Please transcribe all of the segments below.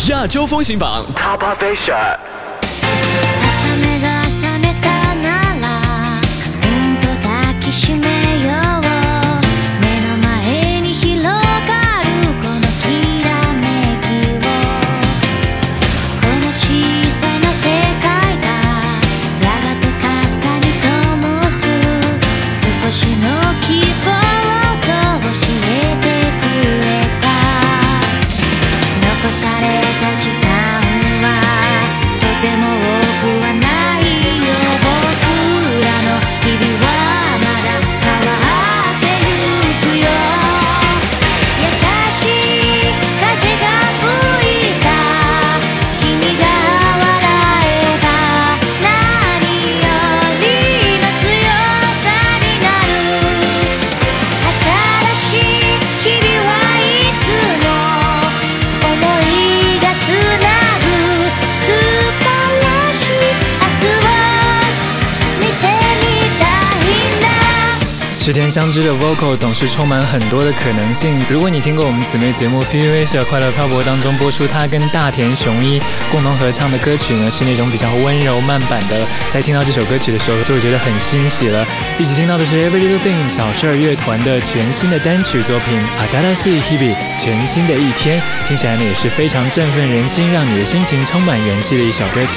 亚洲风行榜 Top Asia。 朝目が覚めたならうんと抱きしめよう。目の前に広がるこのきらめきを、この小さな世界がやがてかすかに灯す少しの希望と教えてくれた。残された時間はとても多くはないよ。僕らの日々はまだ変わってゆくよ。優しい風が吹いた君が笑えば何よりの強さになる。新しい日々はいつも思いがつなぐ素晴らしい明日を見てみたいな。 池田香织的 vocal 总是充满很多的可能性。如果你听过我们姊妹节目 Feel Asia 快乐漂泊当中播出她跟大田雄一共同合唱的歌曲呢，是那种比较温柔慢版的，在听到这首歌曲的时候就会觉得很欣喜了。一起听到的是 Every Little Thing 小事儿乐团的全新的单曲作品新しい日々，全新的一天，听起来呢也是非常振奋人心，让你的心情充满元气的一首歌曲。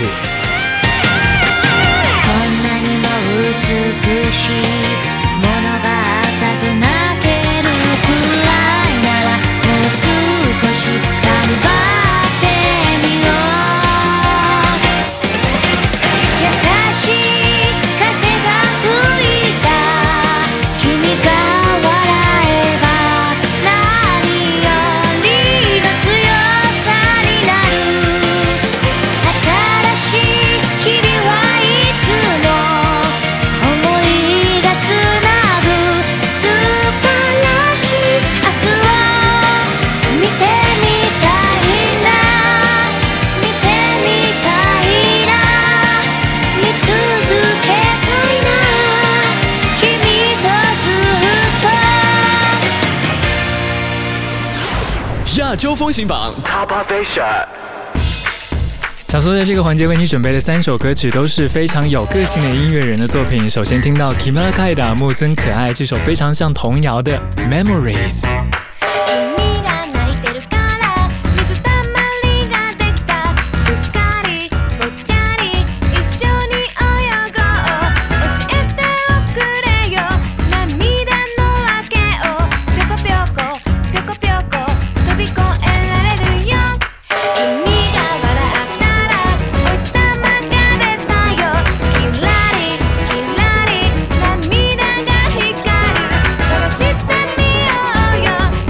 こんなにも美しいものがあったと泣けるくらいならもう少し頑張ってみよう。優しい風が吹いた君が笑えば何よりの強さになる。新しい日々はいつも思いがつなぐ素晴らしい明日を見てみたいな。見てみたいな。見続けたいな。君とずっと。 亚洲风行榜 Top Asia。 小苏在这个环节为你准备的3首歌曲都是非常有个性的音乐人的作品。首先听到 Kimura Kaida 木村可愛这首非常像童谣的 Memories。 君が泣いてるから水たまりができた。うっかりぽっちゃり一緒に泳ごう。教えておくれよ涙の訳を。ぴょこぴょこぴょこぴょこ飛び越えられるよ。君が笑ったらお日様が出たよ。キラリキラリ涙が光る。探してみようよ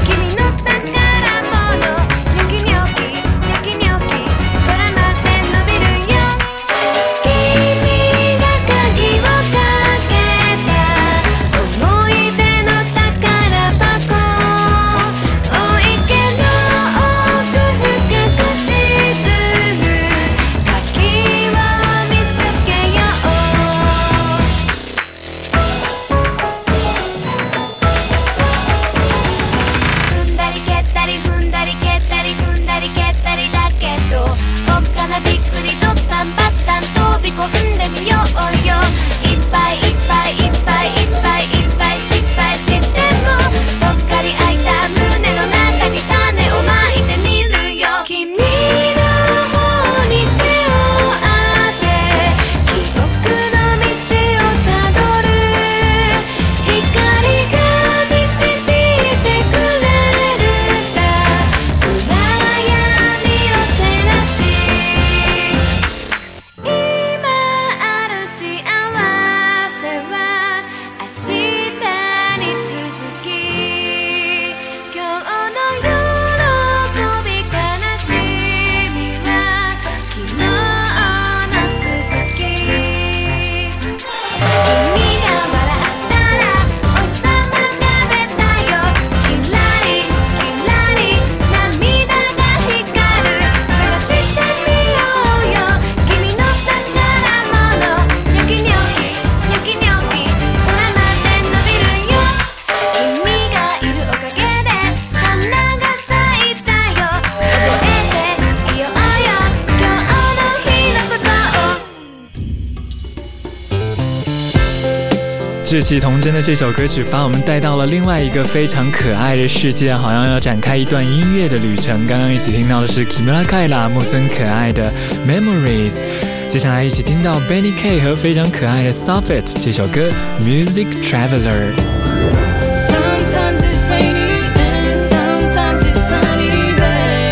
志气童真的这首歌曲把我们带到了另外一个非常可爱的世界，好像要展开一段音乐的旅程。刚刚一起听到的是 Kimura Kaila 木村可爱的 Memories， 接下来一起听到 Benny K 和非常可爱的 Soffit 这首歌 Music Traveler。Sometimes it's rainy and sometimes it's sunny day.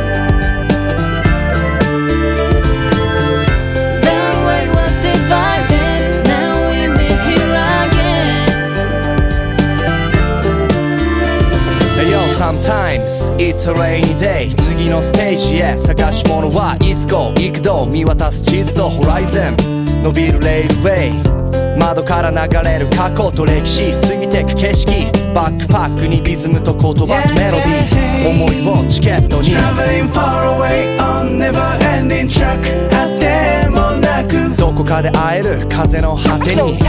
That way was divided, now we meet here again. Hey yo, sometimes it's a rainy day. 次のステージへ探し物はイスコ幾度見渡す地図とホライゾン伸びるレールウェイ窓から流れる過去と歴史過ぎてく景色バックパックにリズムと言葉とメロディー思いをチケットに Traveling far away on never ending track あってもなくどこかで会える風の果てに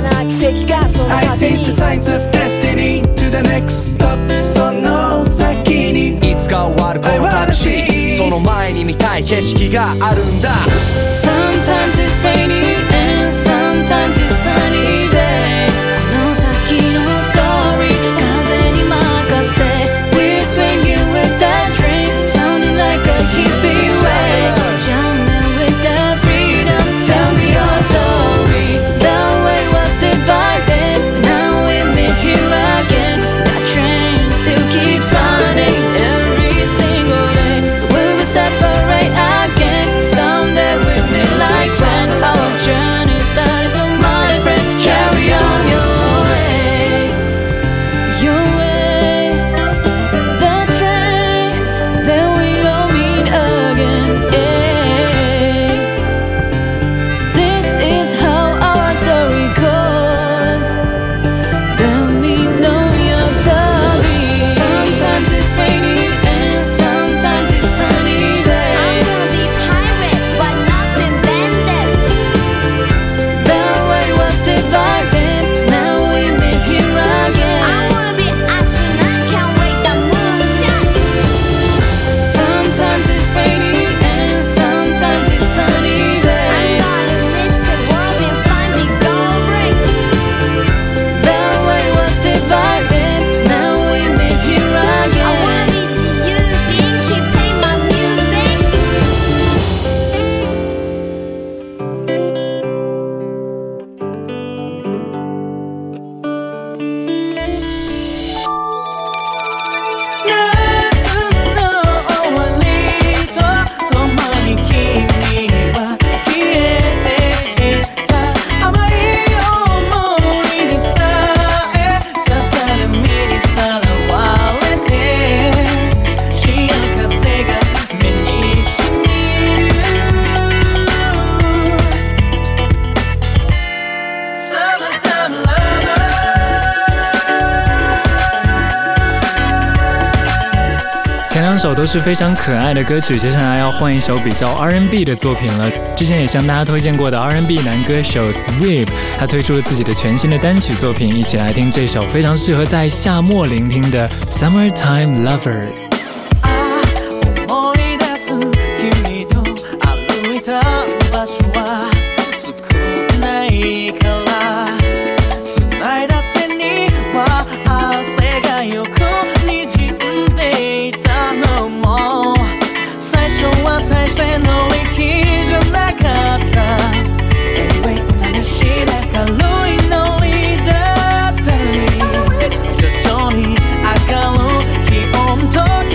I see the signs of destiny to the next stop その先にいつか終わるこの旅その前に見たい景色があるんだ Sometimes it's rainy and sometimes it's sunny day この先のストーリー風に任せ We're swinging with that dream Sounding like a hippie way Jumping with the freedom Tell me your story That way was divided But now we meet here again That train still keeps running Every single day So we will separate again Someday we'll meet like friends Our journey started so my friend Carry on your way Your way That train Then we all meet again yeah. This is how our story goes Let me know your story Sometimes it's rainy and sometimes it's sunny day I'm gonna be pirate but not invented That way was divided Now we meet here again I wanna be astronaut can't wait the moonshot Sometimes it's rainy and sometimes it's sunny day I'm gonna miss the world and find the gold ring That way was divided Now we meet here I again wanna be Eugene keep playing my music 前两首都是非常可爱的歌曲，接下来要换一首比较 R&B 的作品了。之前也向大家推荐过的 R&B 男歌手 Sweep， 他推出了自己的全新的单曲作品，一起来听这首非常适合在夏末聆听的 Summertime Lover。 徐々に上がる気温と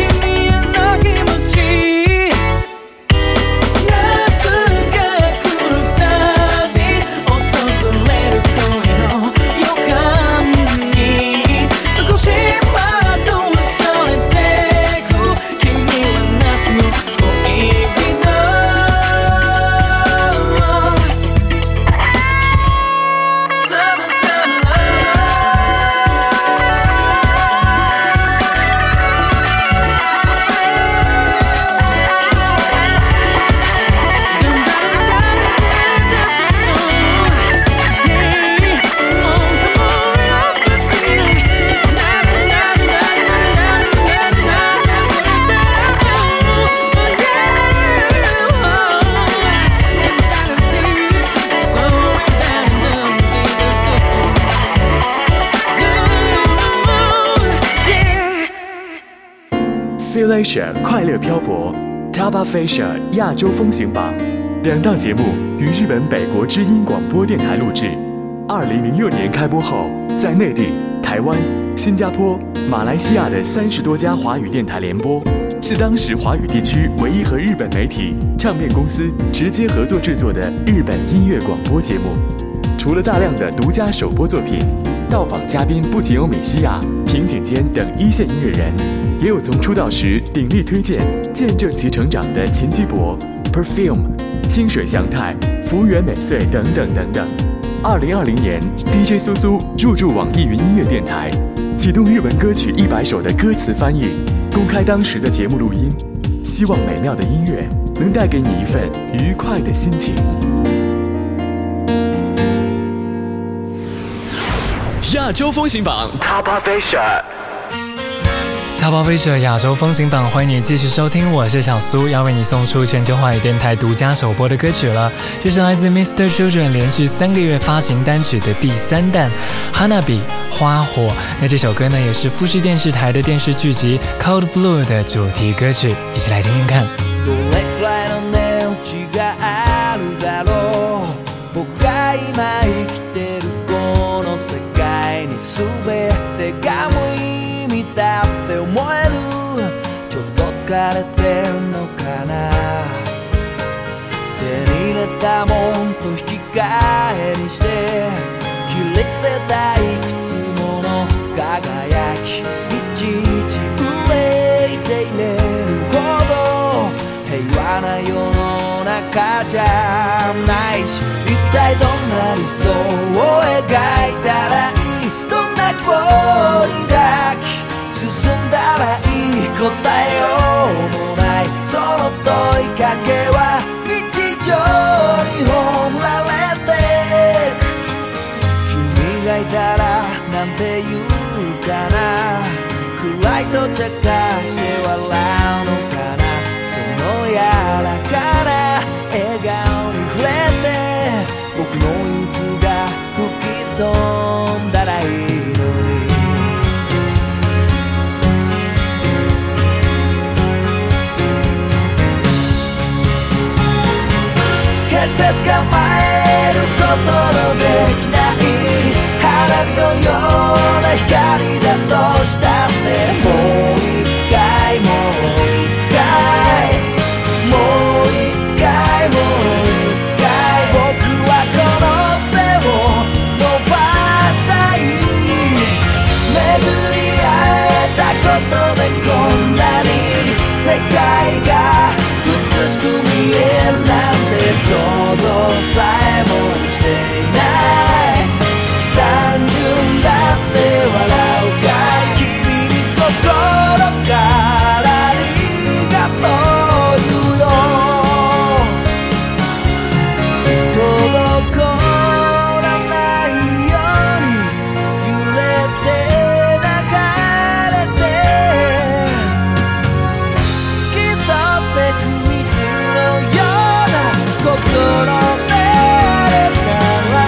Population 快乐漂泊 Top of Asia 亚洲风行榜2档节目于日本北国之音广播电台录制。2006年开播后，在内地、台湾、新加坡、马来西亚的30多家华语电台联播，是当时华语地区唯一和日本媒体、唱片公司直接合作制作的日本音乐广播节目。除了大量的独家首播作品，到访嘉宾不仅有米西亚、平井坚等一线音乐人，也有从出道时鼎力推荐、见证其成长的秦基博、Perfume、清水祥太、福原美穗等等等等。2020年 ，DJ 苏苏入驻网易云音乐电台，启动日文歌曲100首的歌词翻译，公开当时的节目录音，希望美妙的音乐能带给你一份愉快的心情。 亚洲风行榜 Top of Asia。Top of Asia 亚洲风行榜，欢迎你继续收听，我是小苏，要为你送出全球华语电台独家首播的歌曲了。这是来自 Mr. Children 连续3个月发行单曲的第3弹 Hanabi 花火。那这首歌呢，也是富士電視台的电视剧集 Cold Blue 的主题歌曲，一起来听听看。 どれくらいの値打ちがあるだろう、僕が今生きてるこの世界に全てが無意味だって思える、ちょっと疲れてんのかな、手に入れたもんと引き換えにして切り捨てたいくつもの輝き、いちいち憂いていれるほど平和な世の中じゃないし、一体どんな理想を描いたらいい、どんな希望を抱き進んだらいい、答えようもないその問いかけは日常に葬られてく、君がいたらなんて言うかな、暗いと茶化して笑うのかな、その柔らかな笑顔に触れて僕の憂鬱が吹き飛んだらいいのに、決して捕まえることのできない花火のような光だとしたって、もう一回もう一回もう一回もう一回、僕はこの手を伸ばしたい、巡り会えたことでこんなに世界が美しく見えるなんて想像さえもしていない、単純だって笑うかい、君に心からありがとう言うよ、滞らないように揺れて流れて透き通ってく蜜のような心であれたら、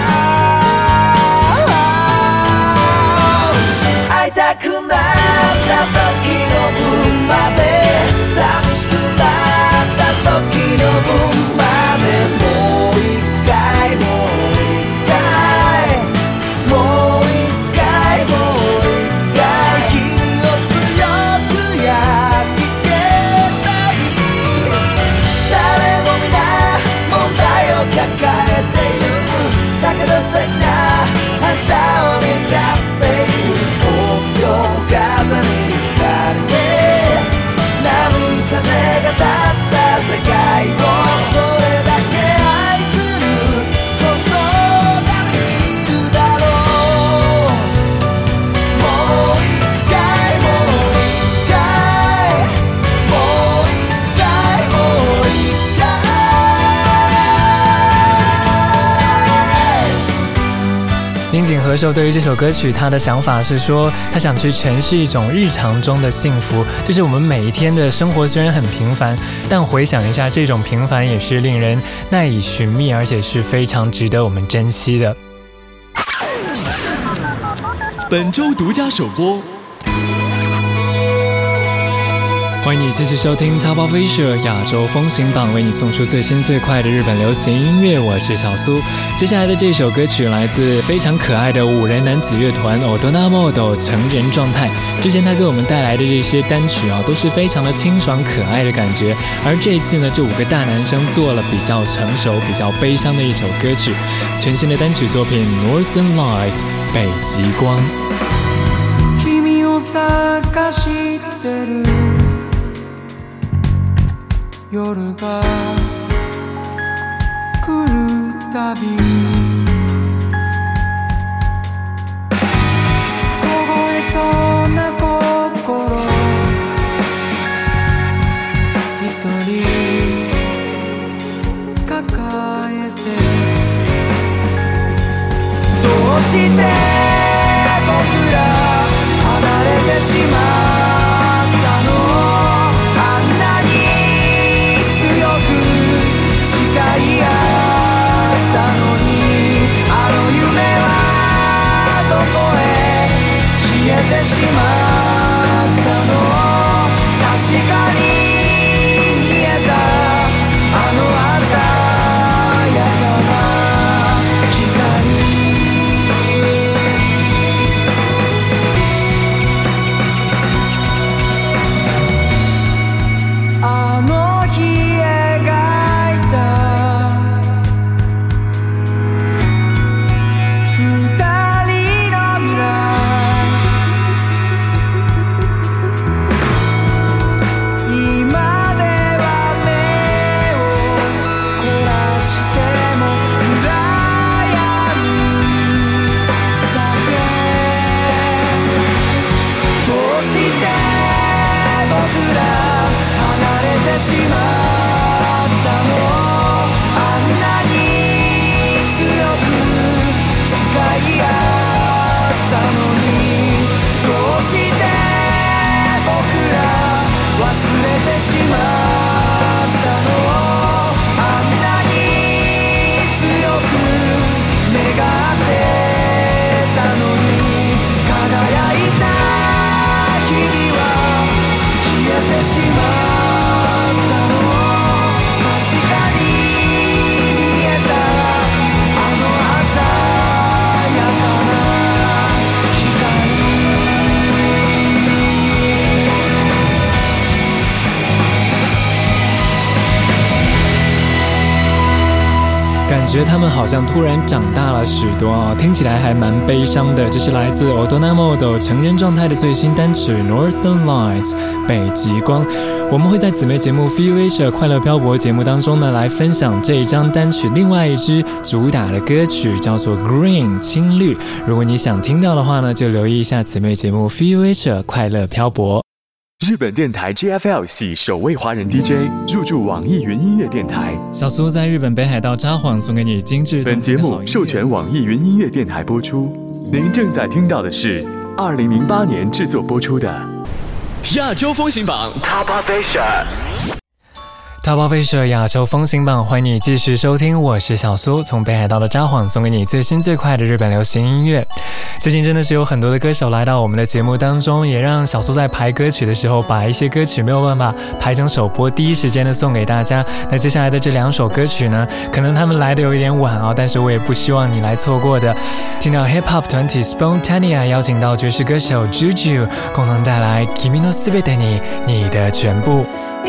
会いたくなった時の分まで、寂しくなった時の分まで、もう一回もう一回もう一回もう一回、君を強く焼き付けたい、誰も皆問題を抱えている、だけど素敵な明日を願っている、風に惹かれて波風が立った世界をどれだけ愛することができるだろう、もう一回もう一回もう一回もう一回。 樱井和寿对于这首歌曲，他的想法是说，他想去诠释一种日常中的幸福，就是我们每一天的生活虽然很平凡，但回想一下，这种平凡也是令人耐以寻觅，而且是非常值得我们珍惜的。 本周独家首播欢迎你继续收听 Top of Asia 亚洲风行榜，为你送出最新最快的日本流行音乐。我是小苏。接下来的这首歌曲来自非常可爱的5人男子乐团 Otonamodo 成人状态。之前他给我们带来的这些单曲都是非常的清爽可爱的感觉。而这一次呢，这5个大男生做了比较成熟、比较悲伤的一首歌曲，全新的单曲作品 Northern Lights 北极光。 君を探してる夜が来るたび凍えそうな心一人抱えてどうして僕ら離れてしまったのあんなに誓い合ったのにあの夢はどこへ消えてしまったの確かに見えたあの鮮やかな光あの日しまったのあんなに強く誓い合ったのにどうして僕ら忘れてしまったのあんなに強く願ってたのに輝いた日々は消えてしまった確かに見えたあの鮮やかな光感觉他们好像突然长大了许多听起来还蛮悲伤的。这是来自 Otonamodo 成人状态的最新单曲 Northern Lights 北极光。我们会在姊妹节目 Feel Asia 快乐漂泊节目当中呢，来分享这一张单曲另外一支主打的歌曲，叫做 Green 青绿。如果你想听到的话呢，就留意一下姊妹节目 Feel Asia 快乐漂泊。 日本电台 GFL 系首位华人 DJ 入驻网易云音乐电台。 小苏在日本北海道札幌送给你精致。 本节目授权网易云音乐电台播出。您正在听到的是2008年制作播出的亚洲风行榜 Top of Asia。Top of Asia 亚洲风行榜，欢迎你继续收听，我是小苏，从北海道的札幌送给你最新最快的日本流行音乐。最近真的是有很多的歌手来到我们的节目当中，也让小苏在排歌曲的时候，把一些歌曲没有办法排成首播，第一时间的送给大家。那接下来的这2首歌曲呢，可能他们来的有一点晚但是我也不希望你来错过的。听到 Hip Hop 团体 Spontanea 邀请到爵士歌手 Juju 共同带来 Kimi no Subete ni 你的全部。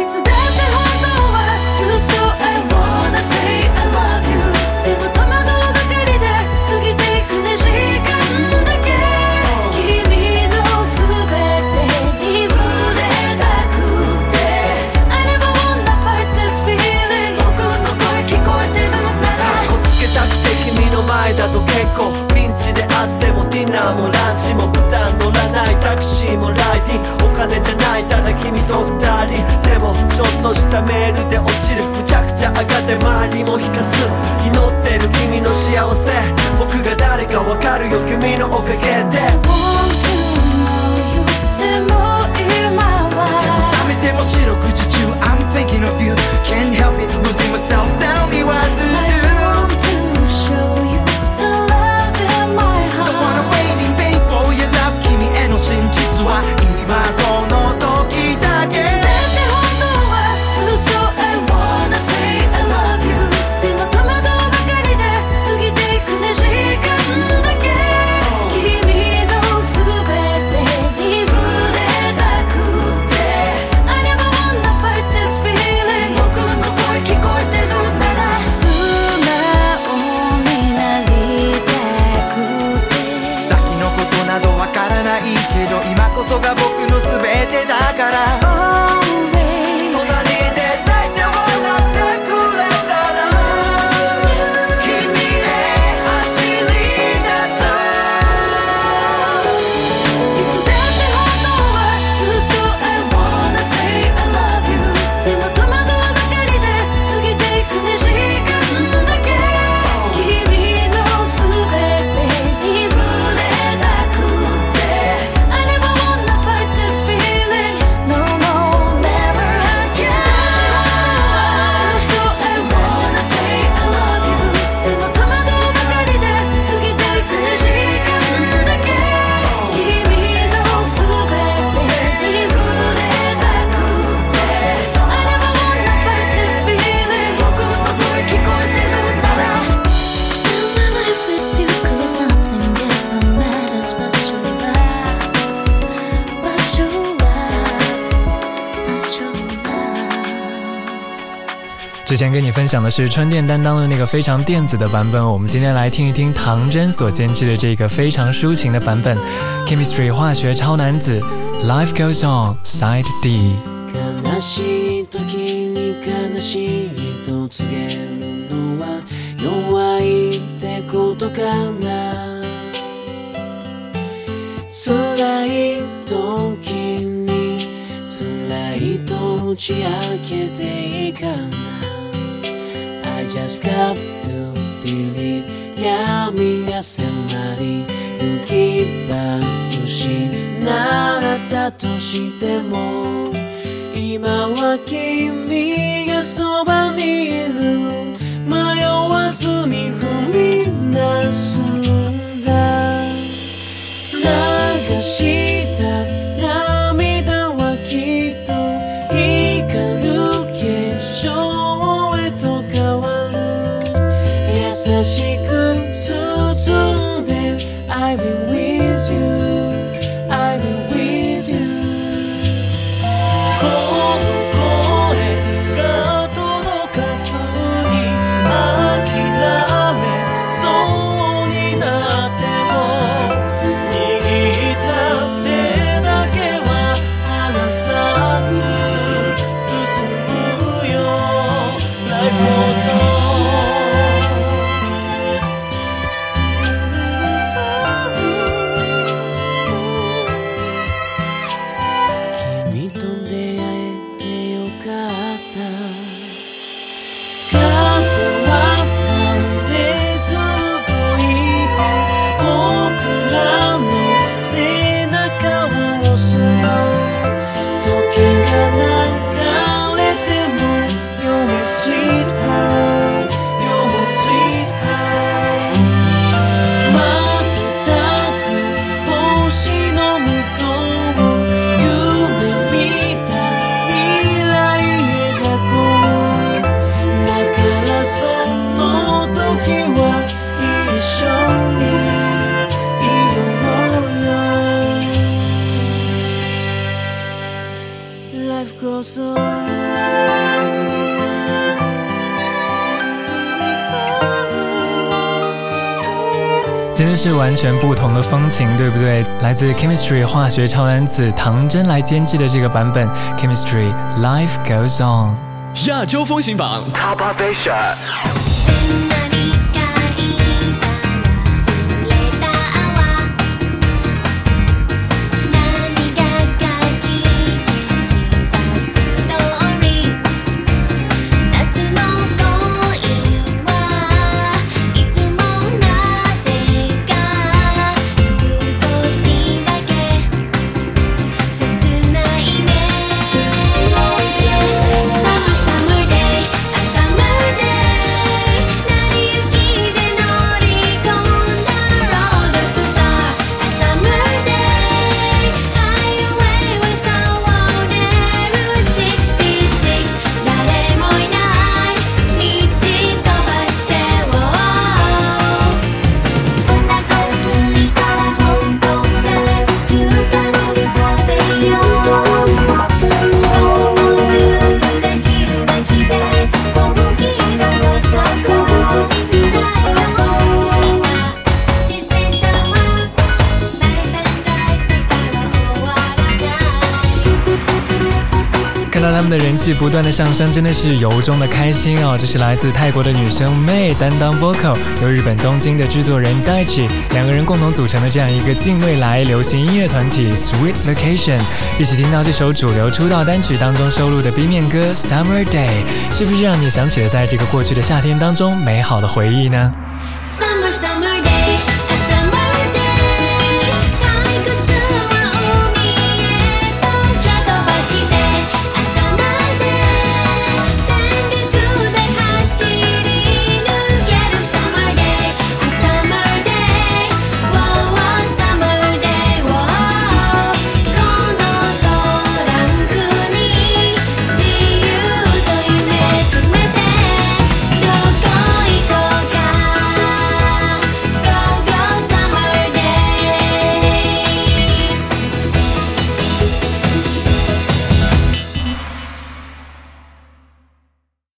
だと結構ピンチであってもディナーもランチも普段乗らないタクシーもライディングお金じゃないただ君と2人でもちょっとしたメールで落ちるむちゃくちゃ上がって周りも引かす祈ってる君の幸せ僕が誰か分かるよ君のおかげで Want to know you でも今は冷めても四六時中 I'm thinking of you Can't help it losing myself Tell me what to do真実は今この時だけ之前跟你分享的是春电担当的那个非常电子的版本，我们今天来听一听唐真所监制的这个非常抒情的版本 Chemistry 化学超男子 Life Goes On Side D。 悲しい時に悲しいと告げるのは弱いってことかな。辛い時に辛いと打ち明けていいかな。 I just got to believe 闇が迫り行き場失ったとしても今は君がそばにいる迷わずに踏み出すんだ。流した涙はきっと光る結晶へと変わる。優しく包んで I'll be with you I'll be with you。 真的是完全不同的风情，对不对？来自 Chemistry 化学超男子唐真来监制的这个版本 Chemistry Life Goes On。 亚洲风行榜 Top Asia。 他们的人气不断的上升，真的是由衷的开心哦。这是来自泰国的女生 May 担当 vocal， 由日本东京的制作人 Daichi 两个人共同组成的这样一个近未来流行音乐团体 Sweet Vacation。一起听到这首主流出道单曲当中收录的 B 面歌 Summer Day， 是不是让你想起了在这个过去的夏天当中美好的回忆呢？